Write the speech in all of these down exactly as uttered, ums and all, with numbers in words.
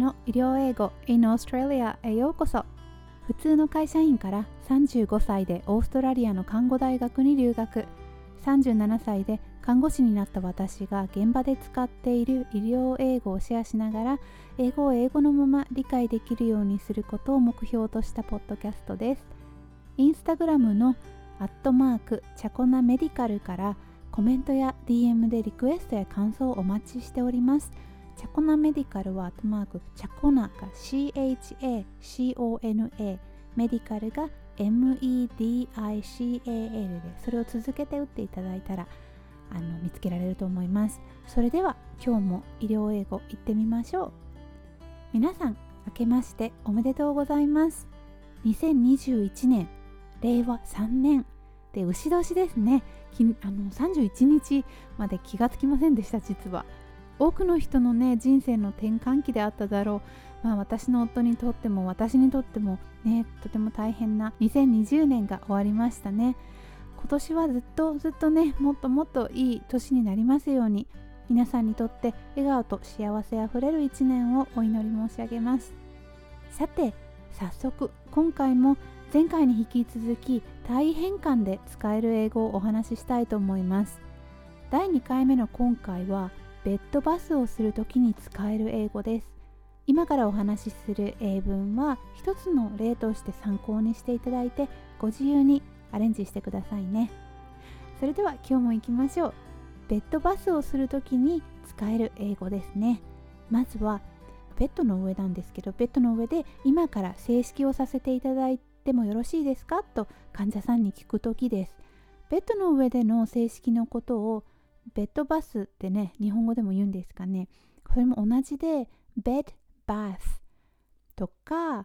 の医療英語 in Australia へようこそ。普通の会社員からさんじゅうごさいでオーストラリアの看護大学に留学、さんじゅうななさいで看護師になった私が現場で使っている医療英語をシェアしながら、英語を英語のまま理解できるようにすることを目標としたポッドキャストです。インスタグラムのアットマークチャコナメディカルからコメントや ディーエム でリクエストや感想をお待ちしております。チャコナメディカルはアットマークチャコナが シーエイチエーシーオーエヌエー メディカルが エムイーディーアイシーエーエル で、それを続けて打っていただいたらあの見つけられると思います。それでは今日も医療英語いってみましょう。皆さん明けましておめでとうございます。にせんにじゅういちねんれいわさんねんで牛年ですね。きあのさんじゅういちにちまで気がつきませんでした。実は多くの人のね人生の転換期であっただろう。まあ私の夫にとっても私にとってもねとても大変なにせんにじゅうねんが終わりましたね。今年はずっとずっとねもっともっといい年になりますように、皆さんにとって笑顔と幸せあふれる一年をお祈り申し上げます。さて早速今回も前回に引き続き大変換で使える英語をお話ししたいと思います。だいにかいめの今回はベッドバスをするときに使える英語です。今からお話しする英文は一つの例として参考にしていただいて、ご自由にアレンジしてくださいね。それでは今日も行きましょう。ベッドバスをするときに使える英語ですね。まずはベッドの上なんですけど、ベッドの上で今から正式をさせていただいてもよろしいですかと患者さんに聞くときです。ベッドの上での正式のことをベッドバスってね、日本語でも言うんですかね。それも同じで、ベッドバスとか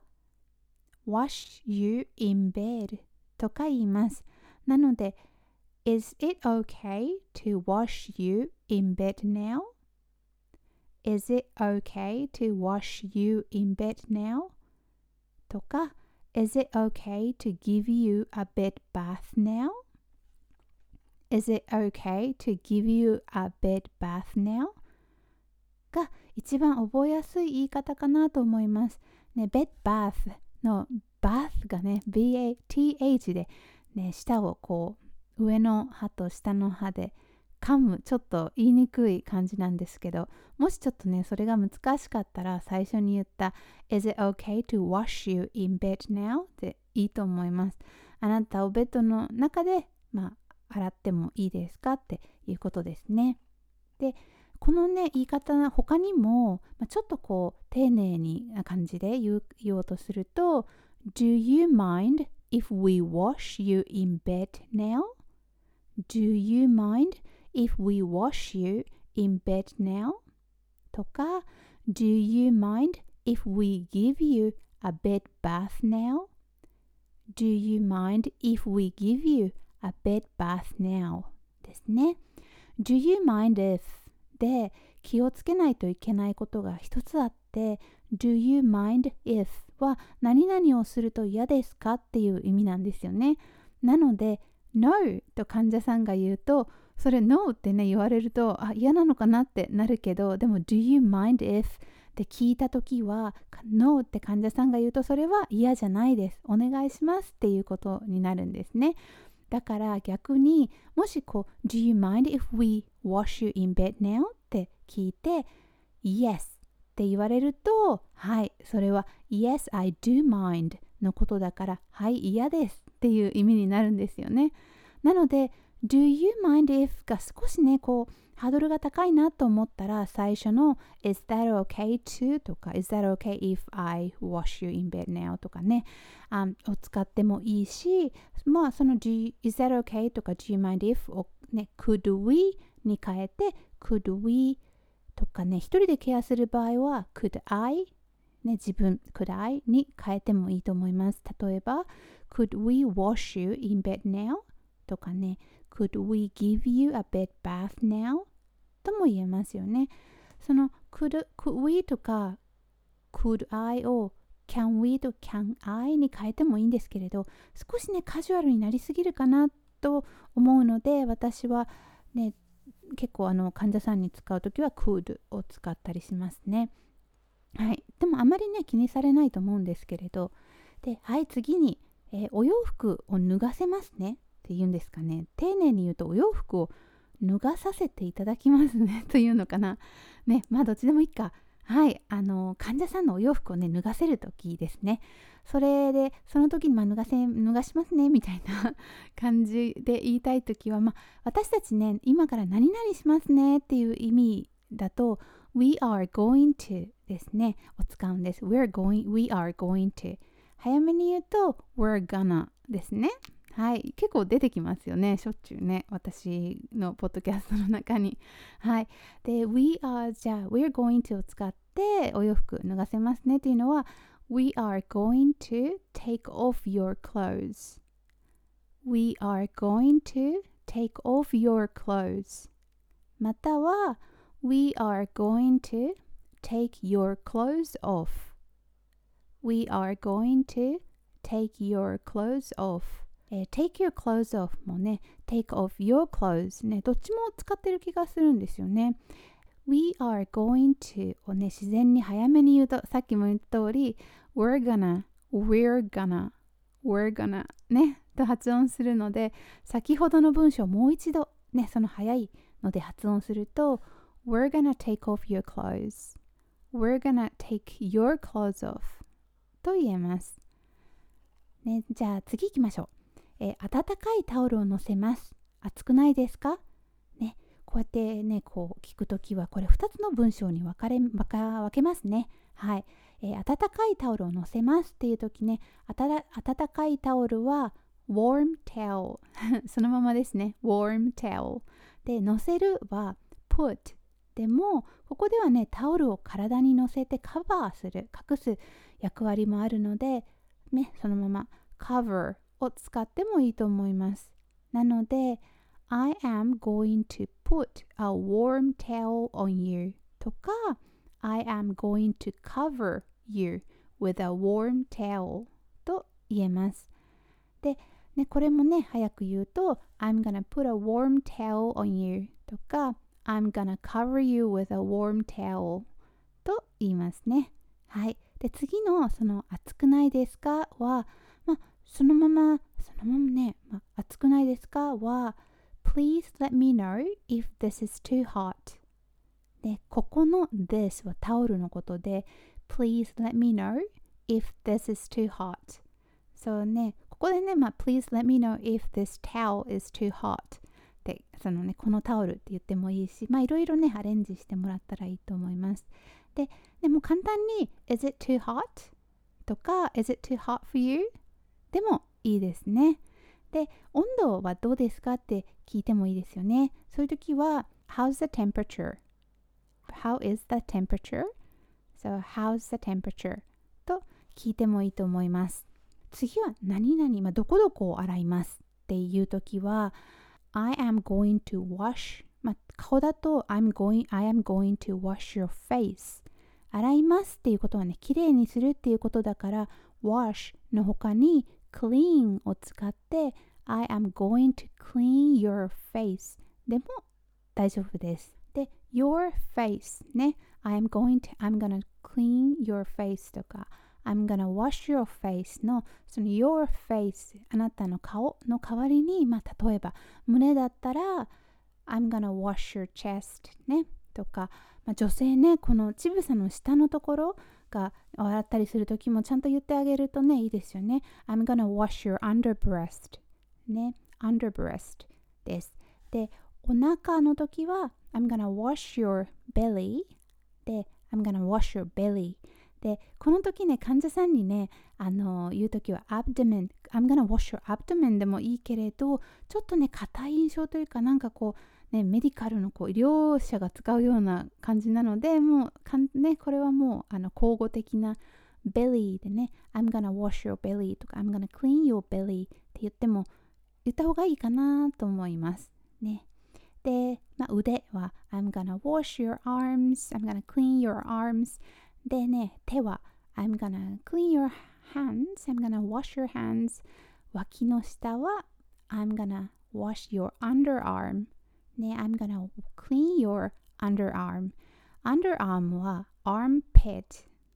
wash you in bed とか言います。なので、Is it okay to wash you in bed now? Is it okay to wash you in bed now? とか、Is it okay to give you a bed bath now?Is it okay to give you a bed bath now? が一番覚えやすい言い方かなと思います。ね、bed bath の bath がね、ビーエーティーエイチ で、ね、舌をこう上の歯と下の歯で噛む、ちょっと言いにくい感じなんですけど、もしちょっとね、それが難しかったら最初に言った Is it okay to wash you in bed now? でいいと思います。あなたをベッドの中で、まあ洗ってもいいですかっていうことですね。で、このね言い方他にも、まあ、ちょっとこう丁寧にな感じで言う、言おうとすると Do you mind if we wash you in bed now? Do you mind if we wash you in bed now? とか Do you mind if we give you a bed bath now? Do you mind if we give you a bed bath now ですね。Do you mind if で気をつけないといけないことが一つあって、Do you mind if は何々をすると嫌ですかっていう意味なんですよね。なので No と患者さんが言うと、それ No ってね言われるとあ嫌なのかなってなるけど、でも Do you mind if って聞いたときは No って患者さんが言うと、それは嫌じゃないです、お願いしますっていうことになるんですね。だから逆にもしこう Do you mind if we wash you in bed now? って聞いて Yes って言われると、はいそれは Yes I do mind のことだから、はい嫌ですっていう意味になるんですよね。なので Do you mind if が少しねこうハードルが高いなと思ったら、最初の Is that okay to? とか Is that okay if I wash you in bed now? とかね、um, を使ってもいいし、まあその Is that okay? とか Do you mind if? をね Could we? に変えて Could we? とかね、一人でケアする場合は Could I? ね、自分 Could I? に変えてもいいと思います。例えば Could we wash you in bed now? とかね、Could we give you a bed bath now? とも言えますよね。その could, could we とか could I を can we と can I に変えてもいいんですけれど、少しねカジュアルになりすぎるかなと思うので、私はね結構あの患者さんに使うときは could を使ったりしますね。 はい、でもあまりね気にされないと思うんですけれど、で、はい、次に、えーお洋服を脱がせますねって言うんですかね。丁寧に言うとお洋服を脱がさせていただきますねというのかな。ね、まあどっちでもいいか。はい、あの患者さんのお洋服をね脱がせる時ですね。それでその時にまあ脱がせ脱がしますねみたいな感じで言いたい時は、まあ私たちね今から何々しますねっていう意味だと We are going to ですねを使うんです。 We're going, We are going to 早めに言うと We're gonna ですね。はい、結構出てきますよね、しょっちゅうね、私のポッドキャストの中に。はい。で、We are じゃあ We're going to を使ってお洋服脱がせますねっていうのは We are going to take off your clothes. We are going to take off your clothes. または We are going to take your clothes off. We are going to take your clothes off. えー、take your clothes off もね take off your clothes ねどっちも使ってる気がするんですよね。We are going to をね自然に早めに言うとさっきも言った通り We're gonna We're gonna We're gonna ねと発音するので、先ほどの文章をもう一度ねその早いので発音すると We're gonna take off your clothes We're gonna take your clothes off と言えます、ね、じゃあ次行きましょう。えー、温かいタオルを乗せます。暑くないですかね、こうやってねこう聞くときはこれふたつの文章に分かれ分か分けますね。はい、えー、温かいタオルを乗せますっていうときね、あたら温かいタオルは warm towel そのままですね。 warm towel で、乗せるは put でもここではねタオルを体に乗せてカバーする隠す役割もあるのでね、そのまま cover を使ってもいいと思います。なので I am going to put a warm towel on you とか I am going to cover you with a warm towel と言えます。で、ね、これもね早く言うと I'm gonna put a warm towel on you とか I'm gonna cover you with a warm towel と言いますね。はい。で、次のその暑くないですかは、まあ、そのまま、そのままね、まあ、暑くないですかは Please let me know if this is too hot で、ここの this はタオルのことで Please let me know if this is too hot そうね、ここでね、まあ、Please let me know if this towel is too hot で、そのね、このタオルって言ってもいいし、まあいろいろねアレンジしてもらったらいいと思います。で、でも簡単に Is it too hot? とか Is it too hot for you? でもいいですね。で、温度はどうですかって聞いてもいいですよね。そういう時は How's the temperature? How is the temperature? So how's the temperature? と聞いてもいいと思います。次は何々、まあ、どこどこを洗いますっていう時は I am going to wash、まあ、顔だと I'm going, I am going to wash your face 洗いますっていうことはねきれいにするっていうことだから wash の他に clean を使って I am going to clean your face でも大丈夫です。で your face ね I am going to I'm gonna clean your face とかI'm gonna wash your face のその your face あなたの顔の代わりに、まあ、例えば胸だったら I'm gonna wash your chest ねとか、まあ、女性ねこの乳房の下のところが洗ったりするときもちゃんと言ってあげるとねいいですよね。 I'm gonna wash your underbreast ね underbreast です。でお腹のときは I'm gonna wash your belly で I'm gonna wash your bellyで、この時ね、患者さんにね、あの言う時は abdomen、I'm gonna wash your abdomen でもいいけれど、ちょっとね、硬い印象というか、なんかこう、ね、メディカルのこう医療者が使うような感じなので、もうかん、ね、これはもうあの口語的な belly でね、I'm gonna wash your belly とか、I'm gonna clean your belly って言っても、言った方がいいかなと思います。ね。で、まあ、腕は I'm gonna wash your arms, I'm gonna clean your armsでね、手は I'm gonna clean your hands, I'm gonna wash your hands 脇の下は I'm gonna wash your underarm ね、I'm gonna clean your underarm underarm は armpit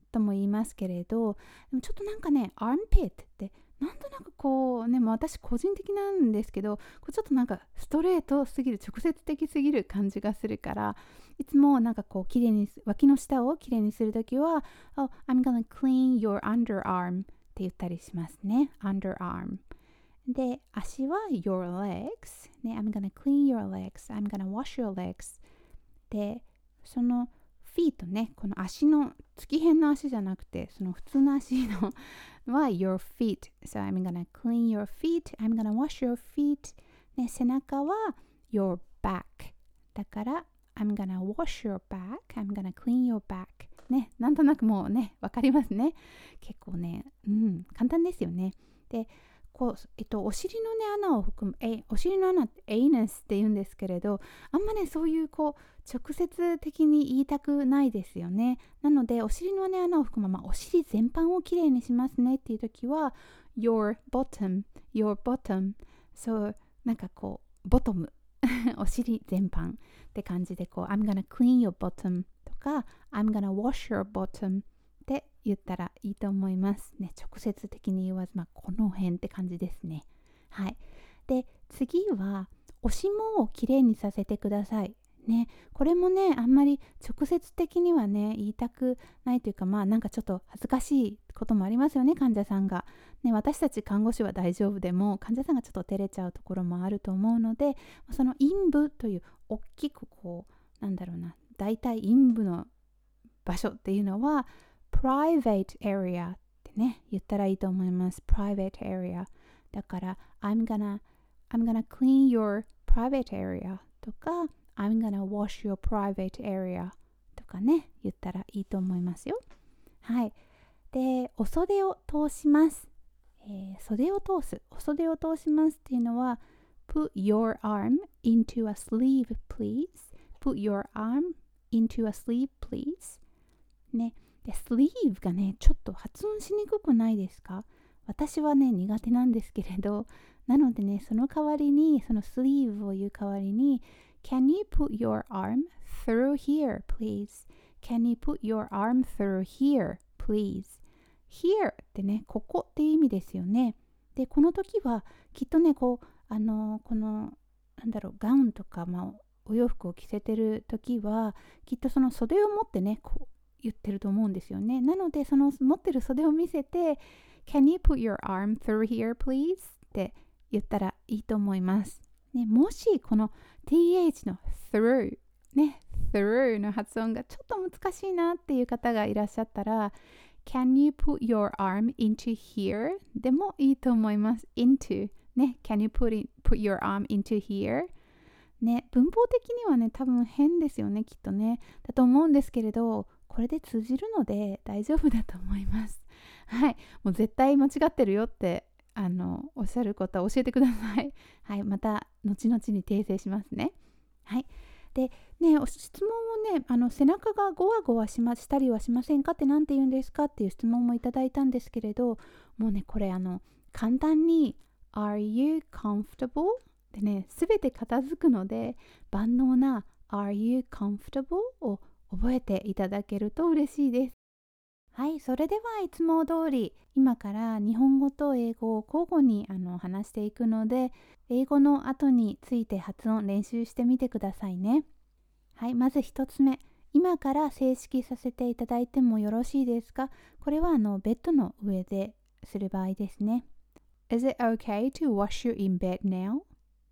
とも言いますけれど、でもちょっとなんかね、armpit ってなんとなくこうね、もう私個人的なんですけど、こうちょっとなんかストレートすぎる、直接的すぎる感じがするから、いつもなんかこうきれいに、脇の下をきれいにするときは、Oh, I'm gonna clean your underarm って言ったりしますね。underarm。で、足は your legs。ね、I'm gonna clean your legs。I'm gonna wash your legs。で、その feet ね、この足の月辺の足じゃなくて、その普通の足のは your feet。So I'm gonna clean your feet。I'm gonna wash your feet。ね、背中は your back。だから、I'm gonna wash your back。I'm gonna clean your back。ね、なんとなくもうね、わかりますね。結構ね、うん、簡単ですよね。で、こうえっと、お尻のね穴を含むえお尻の穴ってエイナスって言うんですけれど、あんまねそういうこう直接的に言いたくないですよね。なのでお尻のね穴を含む、まあ、お尻全般をきれいにしますねっていう時は your bottom your bottom そうなんかこうボトムお尻全般って感じでこう I'm gonna clean your bottom とか I'm gonna wash your bottomって言ったらいいと思いますね。直接的に言わず、まあ、この辺って感じですね。はい。で、次はおしもをきれいにさせてください。ね、これもね、あんまり直接的にはね、言いたくないというか、まあなんかちょっと恥ずかしいこともありますよね、患者さんが。ね、私たち看護師は大丈夫でも、患者さんがちょっと照れちゃうところもあると思うので、その陰部という大きくこう、なんだろうな、大体陰部の場所っていうのは、private area ってね、言ったらいいと思います。private area。だから、I'm gonna, I'm gonna clean your private area とか、I'm gonna wash your private area とかね、言ったらいいと思いますよ。はい。で、お袖を通します。えー、袖を通す。お袖を通しますっていうのは、put your arm into a sleeve, please. Put your arm into a sleeve, please. ね。で、スリーブがね、ちょっと発音しにくくないですか？私はね、苦手なんですけれど、なのでね、その代わりに、そのスリーブを言う代わりに、Can you put your arm through here, please? Can you put your arm through here, please? Here ってね、ここっていう意味ですよね。で、この時は、きっとね、こう、あの、この、なんだろう、ガウンとか、まあ、お洋服を着せてる時は、きっとその袖を持ってね、こう、言ってると思うんですよね。なのでその持ってる袖を見せて Can you put your arm through here please? って言ったらいいと思います。ね、もしこの ティーエイチ の through ね through の発音がちょっと難しいなっていう方がいらっしゃったら Can you put your arm into here? でもいいと思います。into ね Can you put, it, put your arm into here? ね、文法的にはね多分変ですよねきっとねだと思うんですけれどこれで通じるので大丈夫だと思います。はい。もう絶対間違ってるよってあのおっしゃることは教えてください。はい。また後々に訂正しますね。はい。で、ね、質問をね、あの背中がゴワゴワしましたりはしませんかって何て言うんですかっていう質問もいただいたんですけれど、もうね、これあの簡単に Are you comfortable? でね、すべて片付くので万能な Are you comfortable? を覚えていただけると嬉しいです。はい、それではいつも通り今から日本語と英語を交互にあの話していくので英語の後について発音練習してみてくださいね。はい、まず一つ目。今から正式させていただいてもよろしいですか？これはあのベッドの上でする場合ですね。Is it okay to wash you in bed now?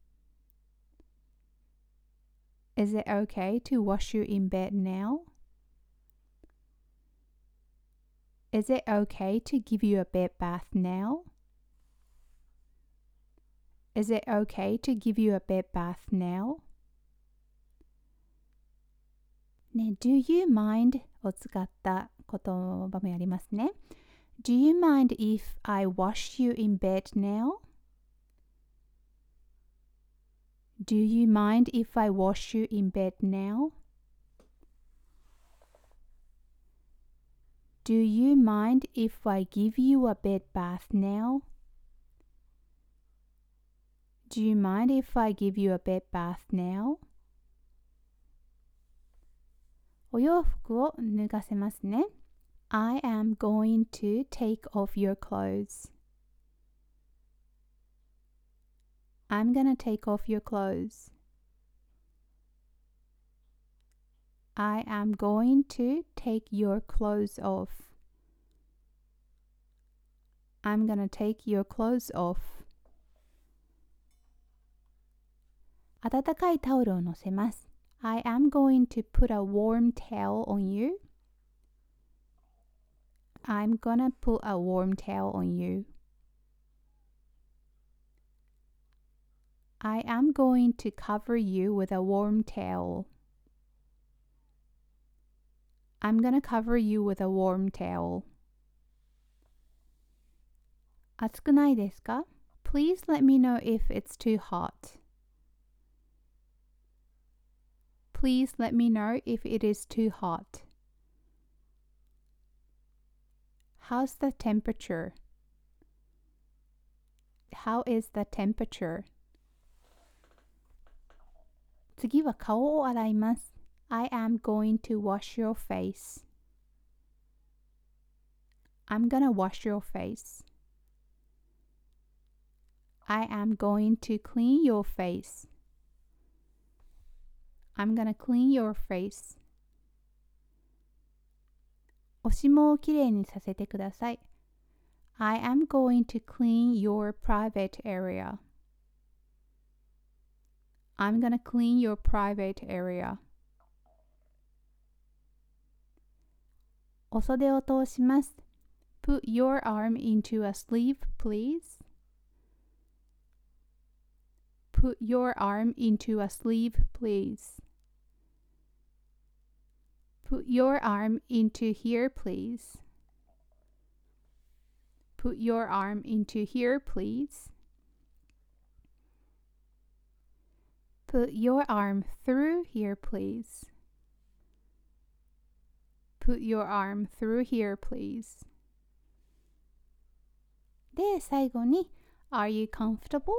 Is it okay to wash you in bed now? Is it okay to give you a bed bath now? Is it okay to give you a bed bath now? ね、Do you mind を使った言葉もやりますね。Do you mind if I wash you in bed now? Do you mind if I wash you in bed now? Do you mind if I give you a bed bath now? Do you mind if I give you a bed bath now? お洋服を脱がせますね。 I am going to take off your clothes. I'm gonna take off your clothes. I am going to take your clothes off. I'm gonna take your clothes off. 温かいタオルを乗せます。I am going to put a warm towel on you. I'm gonna put a warm towel on you. I am going to cover you with a warm towel. I'm gonna cover you with a warm towel. 暑くないですか? Please let me know if it's too hot. Please let me know if it is too hot. How's the temperature? How is the temperature? 次は顔を洗います。I am going to wash your face. I'm gonna wash your face. I am going to clean your face. I'm gonna clean your face. おしもをきれいにさせてください。I am going to clean your private area. I'm gonna clean your private area. お袖を通します。Put your arm into a sleeve, please. Put your arm into a sleeve, please. Put your arm into here, please. Put your arm into here, please. Put your arm through here, please. Put your arm through here, please. で、最後に Are you comfortable?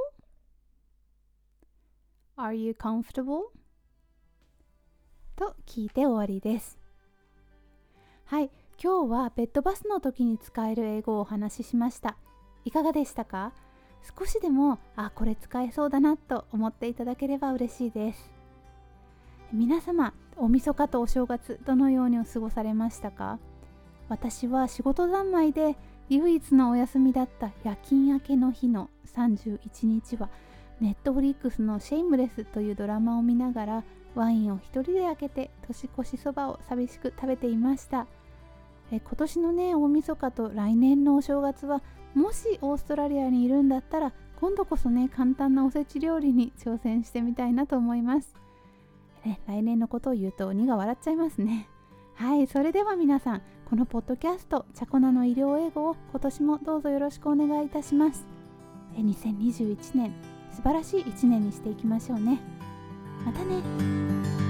Are you comfortable? と聞いて終わりです。はい、今日はベッドバスの時に使える英語をお話ししました。いかがでしたか？少しでも、あ、これ使えそうだなと思っていただければ嬉しいです。皆様、お晦日とお正月、どのように過ごされましたか？私は仕事三昧で唯一のお休みだった夜勤明けの日のさんじゅういちにちは、ネットフリックスのシェイムレスというドラマを見ながらワインを一人で開けて年越しそばを寂しく食べていました。え今年のね大晦日と来年のお正月はもしオーストラリアにいるんだったら今度こそね簡単なおせち料理に挑戦してみたいなと思います、ね、来年のことを言うと鬼が笑っちゃいますね。はい、それでは皆さんこのポッドキャストチャコナの医療英語を今年もどうぞよろしくお願いいたします。えにせんにじゅういちねん素晴らしいいちねんにしていきましょうね。またね。